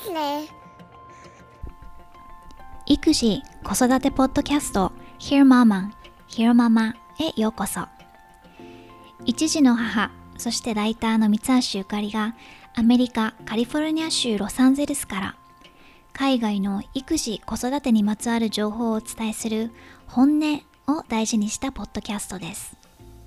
育児・子育てポッドキャスト Hear Mama, Hear Mama へようこそ。一児の母、そしてライターの三橋ゆかりがアメリカ・カリフォルニア州ロサンゼルスから海外の育児・子育てにまつわる情報をお伝えする本音を大事にしたポッドキャストです。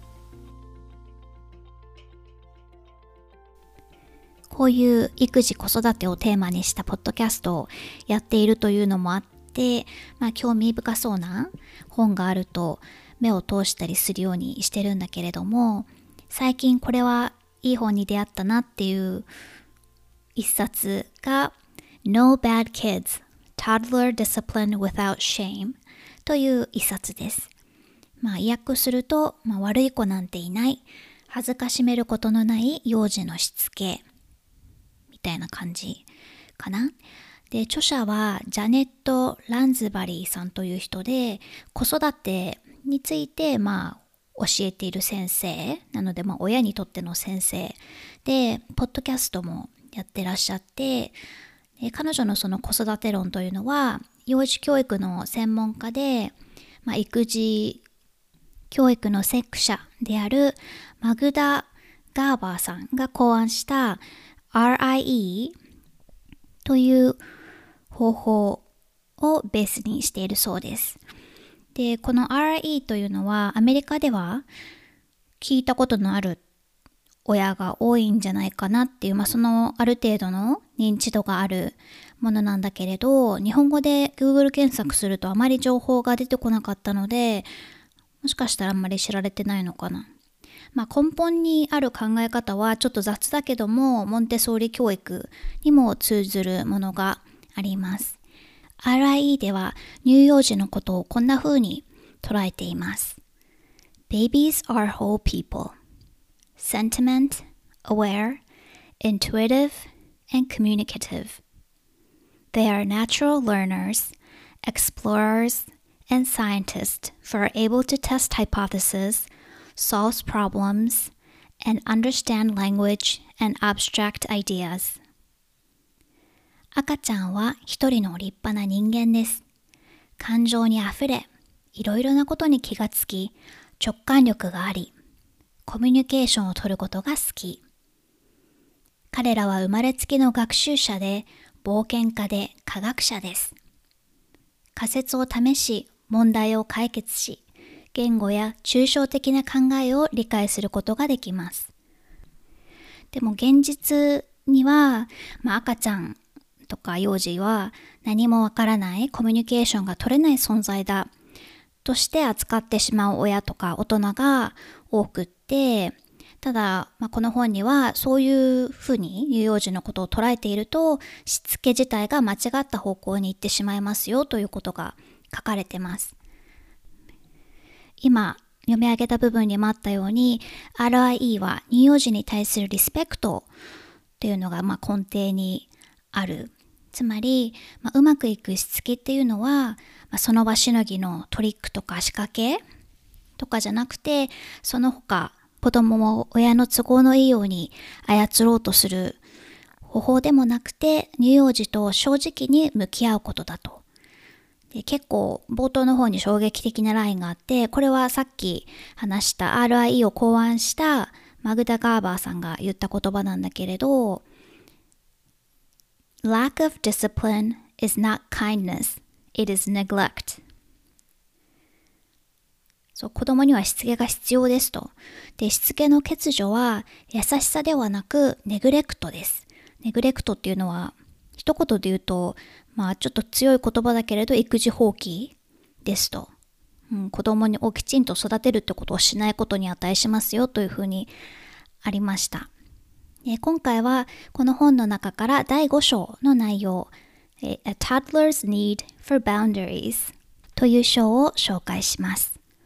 こういう育児・子育てをテーマにしたポッドキャストをやっているというのもあって、興味深そうな本があると目を通したりするようにしてるんだけれども、最近これはいい本に出会ったなっていう一冊が No Bad Kids, Toddler Discipline Without Shame という一冊です。意訳すると、悪い子なんていない、恥ずかしめることのない幼児のしつけみたいな感じかな。で、著者はジャネット・ランズバリーさんという人で、子育てについて教えている先生なので、親にとっての先生で、ポッドキャストもやってらっしゃって、で彼女のその子育て論というのは幼児教育の専門家で、育児教育の先駆者であるマグダ・ガーバーさんが考案した RIE という方法をベースにしているそうです。で、この RIE というのはアメリカでは聞いたことのある親が多いんじゃないかなっていう、そのある程度の認知度があるものなんだけれど、日本語で Google 検索するとあまり情報が出てこなかったので、もしかしたらあんまり知られてないのかな。根本にある考え方はちょっと雑だけども、モンテソーリ教育にも通ずるものがあります。RIE では乳幼児のことをこんな風に捉えています。Babies are whole people, sentient, aware, intuitive, and communicative. They are natural learners, explorers, and scientists who are able to test hypotheses, solve problems, and understand language and abstract ideas. 赤ちゃんは一人の立派な人間です。感情にあふれ、いろいろなことに気がつき、直感力があり、コミュニケーションを取ることが好き。彼らは生まれつきの学習者で、冒険家で科学者です。仮説を試し、問題を解決し、言語や抽象的な考えを理解することができます。でも現実には、赤ちゃんとか幼児は何もわからないコミュニケーションが取れない存在だとして扱ってしまう親とか大人が多くって、ただ、この本にはそういうふうに乳幼児のことを捉えていると、しつけ自体が間違った方向に行ってしまいますよということが書かれてます。今読み上げた部分にもあったように、 RIE は乳幼児に対するリスペクトっていうのが根底にある。つまり、うまくいくしつけっていうのは、その場しのぎのトリックとか仕掛けとかじゃなくて、その他子供を親の都合のいいように操ろうとする方法でもなくて、乳幼児と正直に向き合うことだと。で、結構冒頭の方に衝撃的なラインがあって、これはさっき話した RIE を考案したマグダ・ガーバーさんが言った言葉なんだけれど、Lack of discipline is not kindness, it is neglect. そう、子供にはしつけが必要ですと。で、しつけの欠如は優しさではなくネグレクトです。ネグレクトっていうのは一言で言うと、ちょっと強い言葉だけれど育児放棄ですと。子供をきちんと育てるってことをしないことに値しますよというふうにありました。今回はこの本の中から第5章の内容、A Toddler's Need for Boundaries という章を紹介します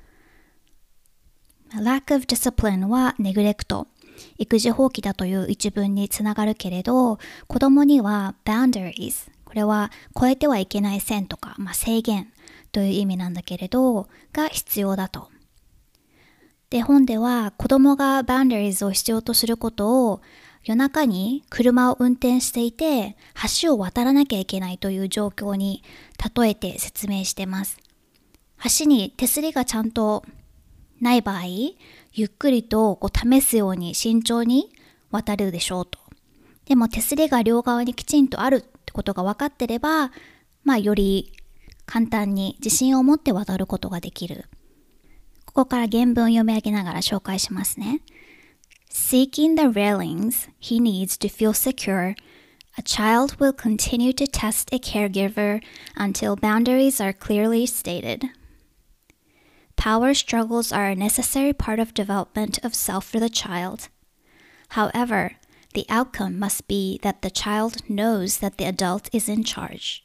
。Lack of discipline はネグレクト、育児放棄だという一文につながるけれど、子供には boundaries、これは超えてはいけない線とか、制限という意味なんだけれど、が必要だと。で、本では子供が boundaries を必要とすることを夜中に車を運転していて橋を渡らなきゃいけないという状況に例えて説明してます。橋に手すりがちゃんとない場合、ゆっくりと試すように慎重に渡るでしょうと。でも手すりが両側にきちんとあるってことが分かってれば、より簡単に自信を持って渡ることができる。ここから原文を読み上げながら紹介しますね。Seeking the railings he needs to feel secure, a child will continue to test a caregiver until boundaries are clearly stated. Power struggles are a necessary part of development of self for the child. However, the outcome must be that the child knows that the adult is in charge.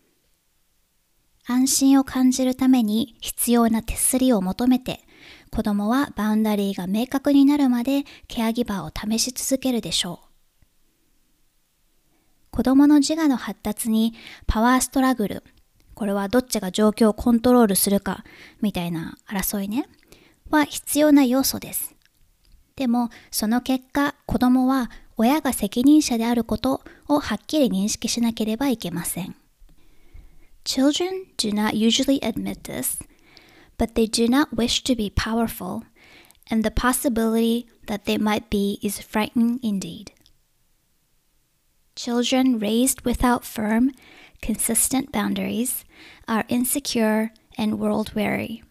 安心を感じるために必要な手すりを求めて、子供はバウンダリーが明確になるまでケアギバーを試し続けるでしょう。子供の自我の発達にパワーストラグル、これはどっちが状況をコントロールするかみたいな争いね、は必要な要素です。でもその結果、子供は親が責任者であることをはっきり認識しなければいけません。Children do not usually admit this, but they do not wish to be powerful, and the possibility that they might be is frightening indeed. Children raised without firm, consistent boundaries are insecure and world-weary.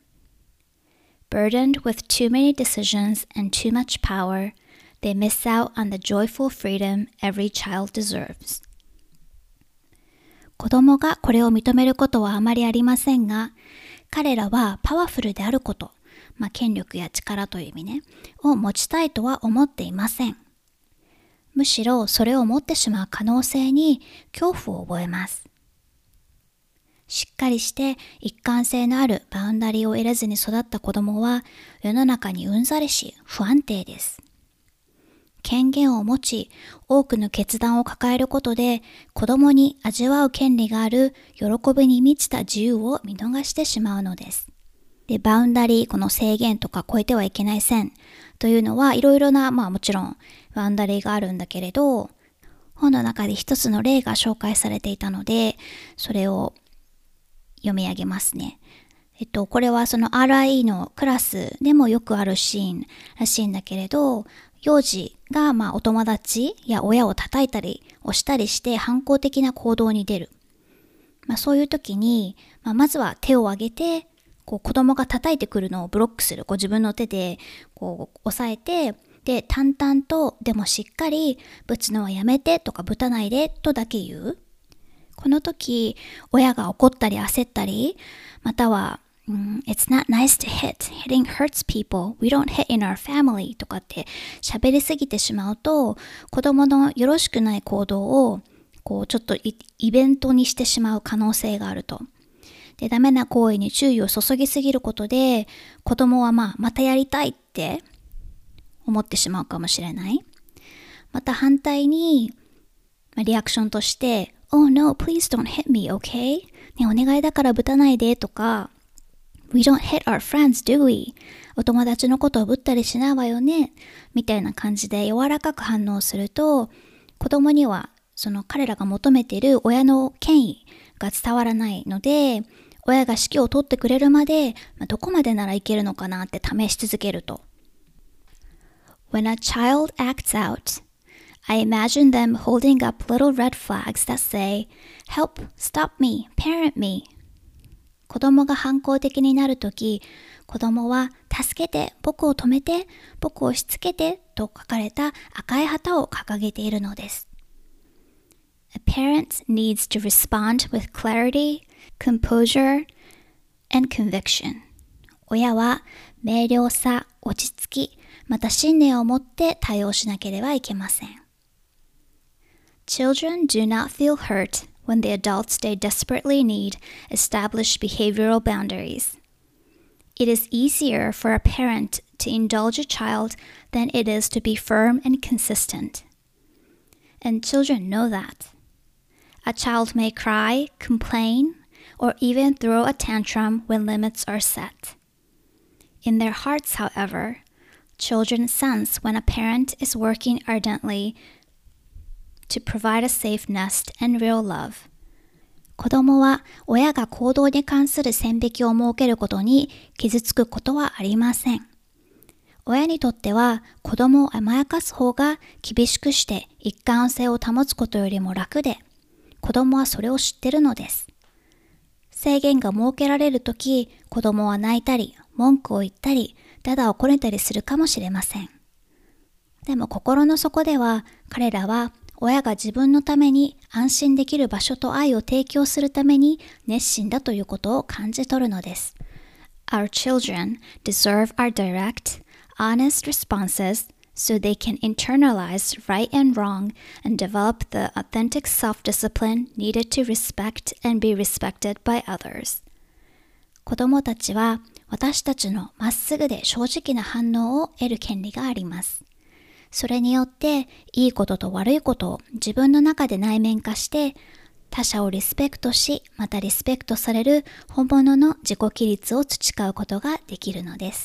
Burdened with too many decisions and too much power, they miss out on the joyful freedom every child deserves. 子供がこれを認めることはあまりありませんが、彼らはパワフルであること、権力や力という意味ね、を持ちたいとは思っていません。むしろそれを持ってしまう可能性に恐怖を覚えます。しっかりして一貫性のあるバウンダリーを得らずに育った子供は世の中にうんざりし不安定です。権限を持ち、多くの決断を抱えることで、子供に味わう権利がある喜びに満ちた自由を見逃してしまうのです。で、バウンダリー、この制限とか超えてはいけない線というのはいろいろな、もちろんバウンダリーがあるんだけれど、本の中で一つの例が紹介されていたので、それを読み上げますね。これはその RIE のクラスでもよくあるシーンらしいんだけれど、幼児がお友達や親を叩いたり押したりして反抗的な行動に出る。そういう時に、まずは手を挙げて、子供が叩いてくるのをブロックする。自分の手で押さえて、で、淡々と、でもしっかり、ぶつのはやめてとかぶたないでとだけ言う。この時、親が怒ったり焦ったり、または、It's not nice to hit. Hitting hurts people. We don't hit in our family. とかって喋りすぎてしまうと、子供のよろしくない行動をちょっとイベントにしてしまう可能性があると。で、ダメな行為に注意を注ぎすぎることで、子供はまたやりたいって思ってしまうかもしれない。また反対に、リアクションとして、Oh no, please don't hit me, okay? ね、お願いだからぶたないでとか、We don't hit our friends, do we? お友達のことをぶったりしないわよねみたいな感じで柔らかく反応すると、子供にはその彼らが求めている親の権威が伝わらないので、親が指揮を取ってくれるまで、どこまでならいけるのかなって試し続けると。When a child acts out, I imagine them holding up little red flags that say, Help, stop me, parent me.子供が反抗的になるとき、子供は助けて、僕を止めて、僕をしつけてと書かれた赤い旗を掲げているのです。A parent needs to respond with clarity, composure, and conviction. 親は明瞭さ、落ち着き、また信念を持って対応しなければいけません。Children do not feel hurt.When the adults they desperately need establish behavioral boundaries. It is easier for a parent to indulge a child than it is to be firm and consistent. And children know that. A child may cry, complain, or even throw a tantrum when limits are set. In their hearts, however, Children sense when a parent is working ardently to provide a safe nest and real love. 子供は親が行動に関する線引きを設けることに傷つくことはありません。親にとっては子供を甘やかす方が厳しくして一貫性を保つことよりも楽で、子供はそれを知ってるのです。制限が設けられるとき、子供は泣いたり、文句を言ったり、だだをこねたりするかもしれません。でも心の底では彼らは親が自分のために安心できる場所と愛を提供するために熱心だということを感じ取るのです。Our children deserve our direct, honest responses so they can internalize right and wrong and develop the authentic self-discipline needed to respect and be respected by others. 子供たちは私たちのまっすぐで正直な反応を得る権利があります。それによっていいことと悪いことを自分の中で内面化して他者をリスペクトし、またリスペクトされる本物の自己規律を培うことができるのです。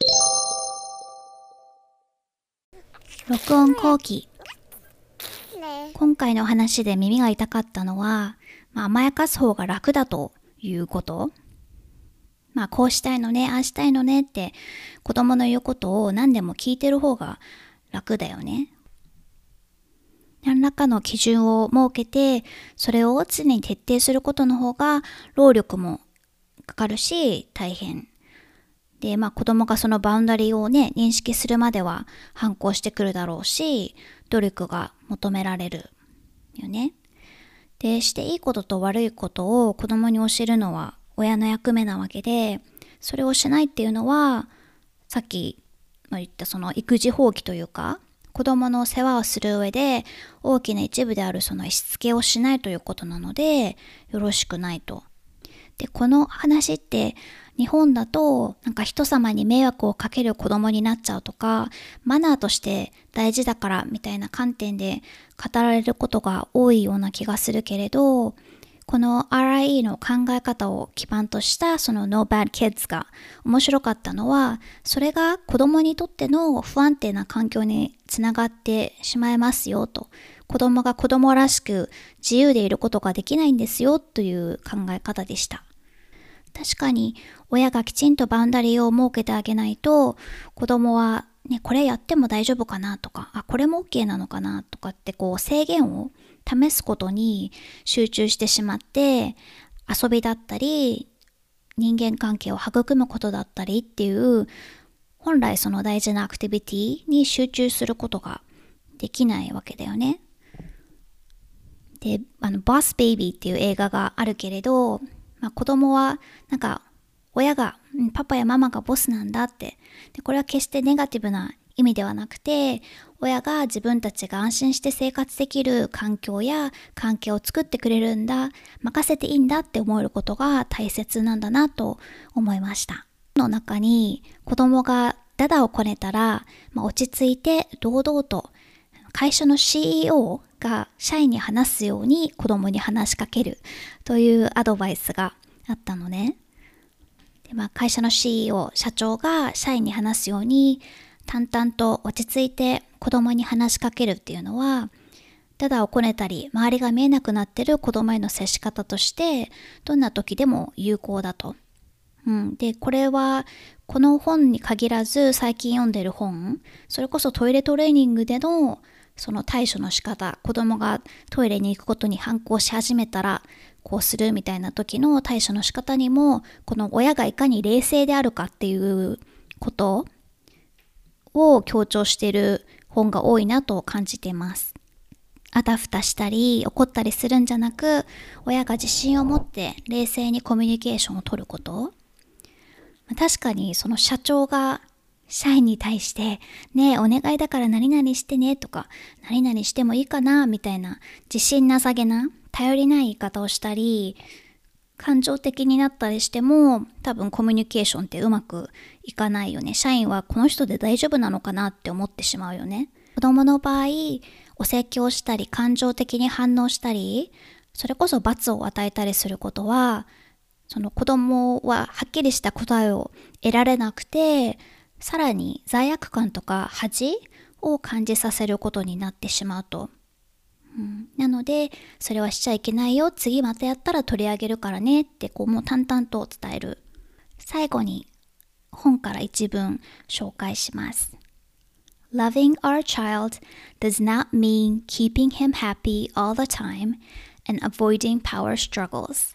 録音後期。今回の話で耳が痛かったのは、甘やかす方が楽だということ。こうしたいのね、ああしたいのねって子供の言うことを何でも聞いてる方が楽だよね。何らかの基準を設けて、それを常に徹底することの方が労力もかかるし大変。で、子供がそのバウンダリーをね、認識するまでは反抗してくるだろうし、努力が求められるよね。で、していいことと悪いことを子供に教えるのは親の役目なわけで、それをしないっていうのは、さっき言ったその育児放棄というか、子供の世話をする上で大きな一部であるそのしつけをしないということなので、よろしくないと。で、この話って日本だと人様に迷惑をかける子供になっちゃうとか、マナーとして大事だからみたいな観点で語られることが多いような気がするけれど、この RIE の考え方を基盤としたその No Bad Kids が面白かったのは、それが子供にとっての不安定な環境につながってしまいますよと。子供が子供らしく自由でいることができないんですよという考え方でした。確かに親がきちんとバウンダリーを設けてあげないと、子供はね、これやっても大丈夫かなとか、これも OK なのかなとかって制限を試すことに集中してしまって、遊びだったり人間関係を育むことだったりっていう本来その大事なアクティビティに集中することができないわけだよね。で、ボス・ベイビーっていう映画があるけれど、子供は親がパパやママがボスなんだって。で、これは決してネガティブな意味ではなくて、親が自分たちが安心して生活できる環境や関係を作ってくれるんだ、任せていいんだって思えることが大切なんだなと思いました。の中に子供がダダをこねたら、落ち着いて堂々と会社の CEO が社員に話すように子供に話しかけるというアドバイスがあったのね。で、会社の CEO、社長が社員に話すように淡々と落ち着いて子供に話しかけるっていうのは、ダダをこねたり周りが見えなくなってる子供への接し方としてどんな時でも有効だと。で、これはこの本に限らず最近読んでる本、それこそトイレトレーニングでのその対処の仕方、子供がトイレに行くことに反抗し始めたらこうするみたいな時の対処の仕方にも、この親がいかに冷静であるかっていうことを強調している本が多いなと感じています。あたふたしたり怒ったりするんじゃなく、親が自信を持って冷静にコミュニケーションを取ること。確かにその社長が社員に対してねえお願いだから何々してねとか何々してもいいかなみたいな自信なさげな頼りない言い方をしたり感情的になったりしても、多分コミュニケーションってうまくいかないよね。社員はこの人で大丈夫なのかなって思ってしまうよね。子供の場合、お説教したり感情的に反応したり、それこそ罰を与えたりすることは、その子供ははっきりした答えを得られなくて、 さらに罪悪感とか恥を感じさせることになってしまうと。なので、それはしちゃいけないよ。次またやったら取り上げるからねってもう淡々と伝える。最後に本から一文紹介します。Loving our child does not mean keeping him happy all the time and avoiding power struggles.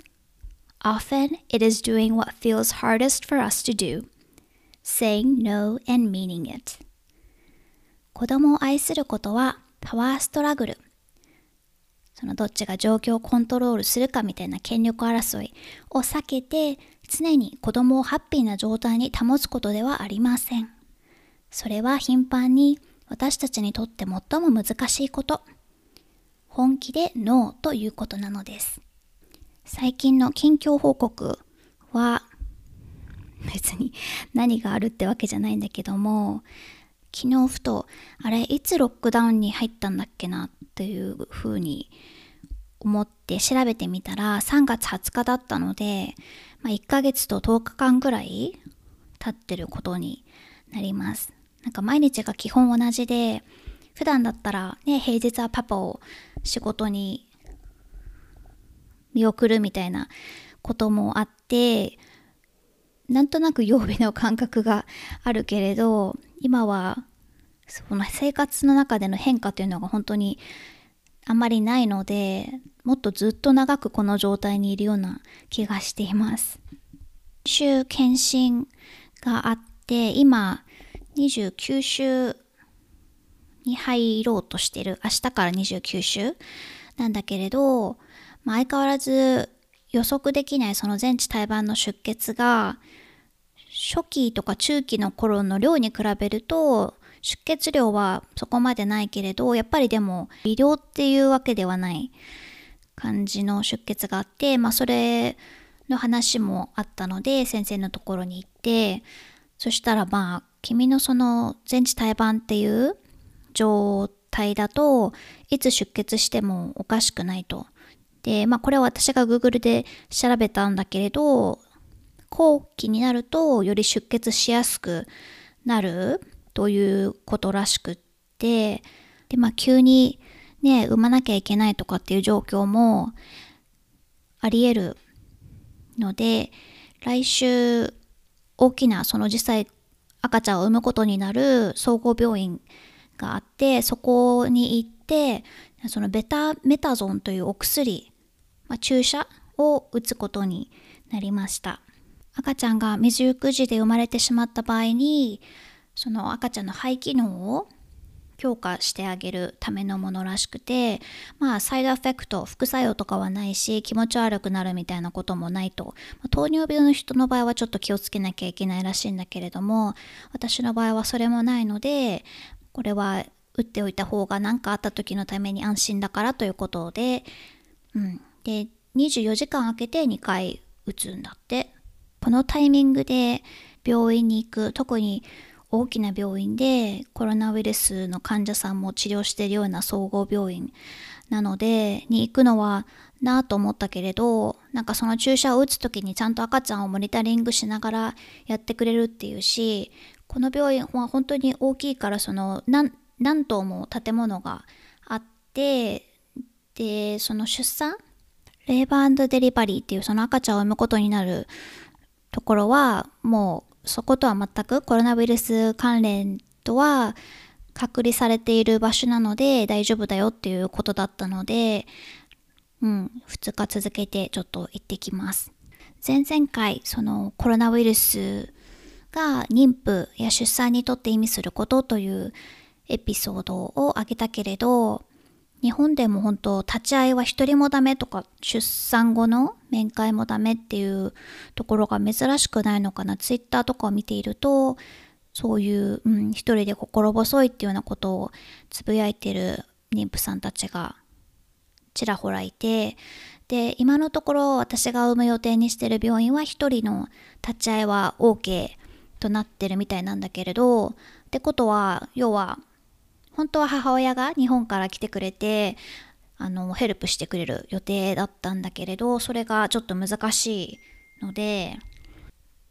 Often it is doing what feels hardest for us to do, saying no and meaning it. 子供を愛することはパワーストラグル。そのどっちが状況をコントロールするかみたいな権力争いを避けて、常に子供をハッピーな状態に保つことではありません。それは頻繁に私たちにとって最も難しいこと。本気でノーということなのです。最近の近況報告は別に何があるってわけじゃないんだけども、昨日ふといつロックダウンに入ったんだっけなっていうふうに思って調べてみたら3月20日だったので、1ヶ月と10日間ぐらい経ってることになります。なんか毎日が基本同じで、普段だったらね、平日はパパを仕事に見送るみたいなこともあって、なんとなく曜日の感覚があるけれど、今はその生活の中での変化というのが本当にあんまりないので、もっとずっと長くこの状態にいるような気がしています。週検診があって、今29週に入ろうとしてる。明日から29週なんだけれど、相変わらず予測できないその全治胎盤の出血が初期とか中期の頃の量に比べると出血量はそこまでないけれど、やっぱりでも微量っていうわけではない感じの出血があって、それの話もあったので先生のところに行って、そしたら君のその全治胎盤っていう状態だといつ出血してもおかしくないと。で、これは私が Google で調べたんだけれど、後期になるとより出血しやすくなるということらしくって、で、急にね、産まなきゃいけないとかっていう状況もあり得るので、来週大きなその実際赤ちゃんを産むことになる総合病院があって、そこに行ってそのベタメタゾンというお薬、注射を打つことになりました。赤ちゃんが未熟児で生まれてしまった場合に、その赤ちゃんの肺機能を強化してあげるためのものらしくて、サイドエフェクト、副作用とかはないし、気持ち悪くなるみたいなこともないと。糖尿病の人の場合はちょっと気をつけなきゃいけないらしいんだけれども、私の場合はそれもないので、これは打っておいた方が何かあった時のために安心だからということで、で、24時間空けて2回打つんだって。このタイミングで病院に行く、特に大きな病院でコロナウイルスの患者さんも治療しているような総合病院なのでに行くのはなと思ったけれど、なんかその注射を打つ時にちゃんと赤ちゃんをモニタリングしながらやってくれるっていうし、この病院は本当に大きいから、その何棟も建物があって、でその出産レーバー&デリバリーっていうその赤ちゃんを産むことになるところはもうそことは全くコロナウイルス関連とは隔離されている場所なので大丈夫だよっていうことだったので、2日続けてちょっと行ってきます。前々回そのコロナウイルスが妊婦や出産にとって意味することというエピソードを挙げたけれど、日本でも本当立ち会いは一人もダメとか、出産後の面会もダメっていうところが珍しくないのかな。ツイッターとかを見ていると、そういう、一人で心細いっていうようなことをつぶやいてる妊婦さんたちがちらほらいて、で今のところ私が産む予定にしてる病院は一人の立ち会いは OK となってるみたいなんだけれど、ってことは要は本当は母親が日本から来てくれてヘルプしてくれる予定だったんだけれど、それがちょっと難しいので、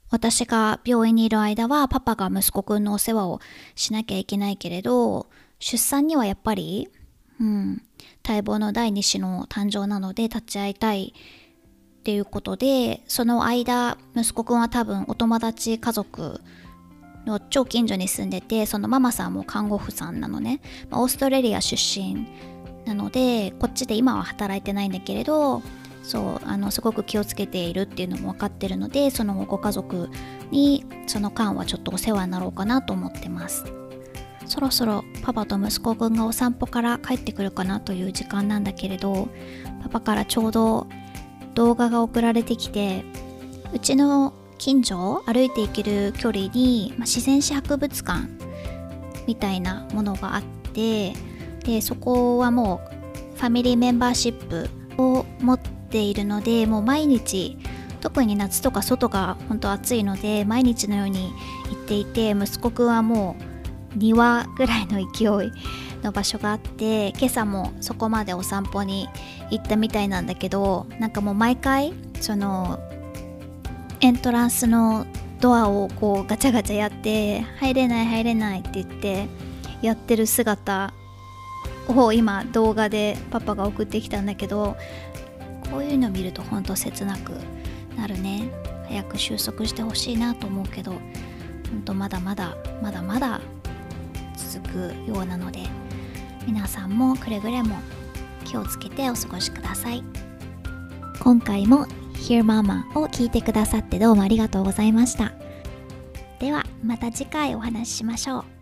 私が病院にいる間はパパが息子くんのお世話をしなきゃいけないけれど、出産にはやっぱり、待望の第2子の誕生なので立ち会いたいっていうことで、その間息子くんは多分お友達家族の超近所に住んでて、そのママさんも看護婦さんなのね。オーストラリア出身なので、こっちで今は働いてないんだけれど、そうすごく気をつけているっていうのも分かってるので、そのご家族にその間はちょっとお世話になろうかなと思ってます。そろそろパパと息子くんがお散歩から帰ってくるかなという時間なんだけれど、パパからちょうど動画が送られてきて、うちの近所歩いて行ける距離に、自然史博物館みたいなものがあって、でそこはもうファミリーメンバーシップを持っているので、もう毎日、特に夏とか外が本当暑いので毎日のように行っていて、息子くんはもう2羽ぐらいの勢いの場所があって、今朝もそこまでお散歩に行ったみたいなんだけど、なんかもう毎回そのエントランスのドアをこうガチャガチャやって入れないって言ってやってる姿を今動画でパパが送ってきたんだけど、こういうの見るとほんと切なくなるね。早く収束してほしいなと思うけど、ほんとまだまだ続くようなので、皆さんもくれぐれも気をつけてお過ごしください。今回も Hear Mama を聞いてくださってどうもありがとうございました。ではまた次回お話ししましょう。